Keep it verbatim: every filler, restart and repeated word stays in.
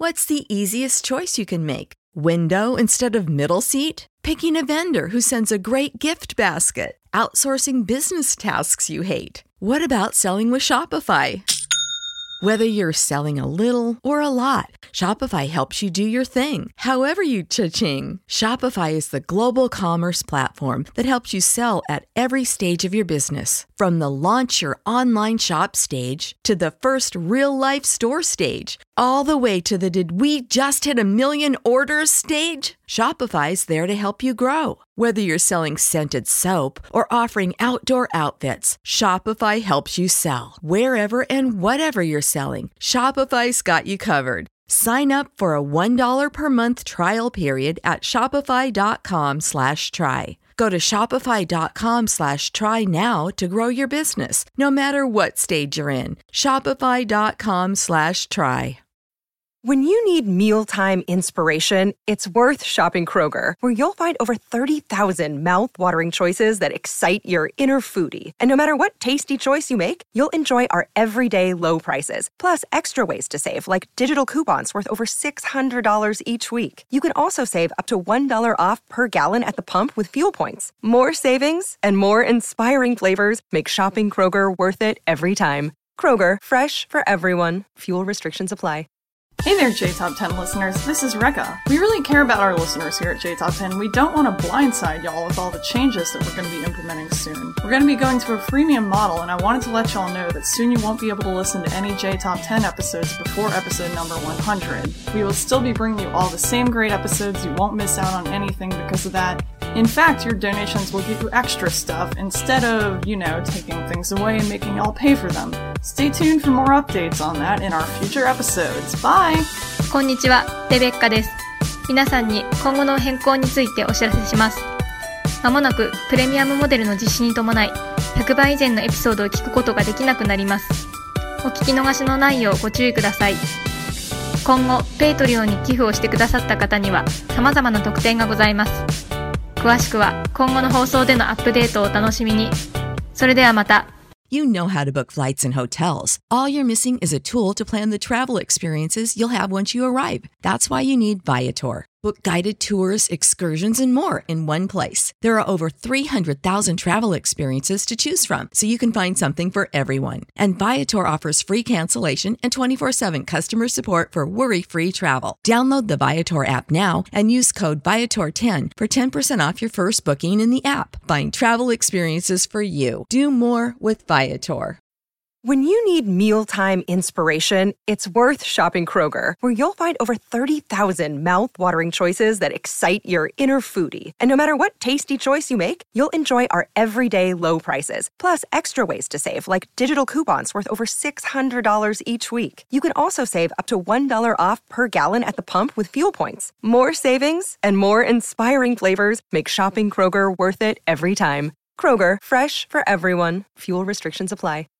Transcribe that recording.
What's the easiest choice you can make? Window instead of middle seat? Picking a vendor who sends a great gift basket? Outsourcing business tasks you hate? What about selling with Shopify? Whether you're selling a little or a lot, Shopify helps you do your thing, however you cha-ching. Shopify is the global commerce platform that helps you sell at every stage of your business. From the launch your online shop stage to the first real-life store stage, all the way to the did we just hit a million orders stage. Shopify's there to help you grow. Whether you're selling scented soap or offering outdoor outfits, Shopify helps you sell. Wherever and whatever you're selling, Shopify's got you covered. Sign up for a one dollar per month trial period at shopify.com slash try. Go to shopify.com slash try now to grow your business, no matter what stage you're in. Shopify.com slash try. When you need mealtime inspiration, it's worth shopping Kroger, where you'll find over thirty thousand mouth-watering choices that excite your inner foodie. And no matter what tasty choice you make, you'll enjoy our everyday low prices, plus extra ways to save, like digital coupons worth over six hundred dollars each week. You can also save up to one dollar off per gallon at the pump with fuel points. More savings and more inspiring flavors make shopping Kroger worth it every time. Kroger, fresh for everyone. Fuel restrictions apply. Hey there, J Top ten listeners. This is Rekka. We really care about our listeners here at J Top ten. We don't want to blindside y'all with all the changes that we're going to be implementing soon. We're going to be going to a freemium model, and I wanted to let y'all know that soon you won't be able to listen to any J Top ten episodes before episode number one hundred. We will still be bringing you all the same great episodes. You won't miss out on anything because of that. In fact, your donations will get you extra stuff instead of, you know, taking things away and making y'all pay for them. Stay tuned for more updates on that in our future episodes. Bye! こんにちは、レベッカです。皆さんに今後の変更についてお知らせします。まもなくプレミアムモデルの実施に伴い、ひゃくばい以前のエピソードを聞くことができなくなります。お聞き逃しのないようご注意ください。今後、ペイトリオンに寄付をしてくださった方には様々な特典がございます。詳しくは今後の放送でのアップデートをお楽しみに。それではまた。 You know how to book flights and hotels. All you're missing is a tool to plan the travel experiences you'll have once you arrive. That's why you need Viator. Book guided tours, excursions, and more in one place. There are over three hundred thousand travel experiences to choose from, so you can find something for everyone. And Viator offers free cancellation and twenty-four seven customer support for worry-free travel. Download the Viator app now and use code Viator ten for ten percent off your first booking in the app. Find travel experiences for you. Do more with Viator. When you need mealtime inspiration, it's worth shopping Kroger, where you'll find over thirty thousand mouth-watering choices that excite your inner foodie. And no matter what tasty choice you make, you'll enjoy our everyday low prices, plus extra ways to save, like digital coupons worth over six hundred dollars each week. You can also save up to one dollar off per gallon at the pump with fuel points. More savings and more inspiring flavors make shopping Kroger worth it every time. Kroger, fresh for everyone. Fuel restrictions apply.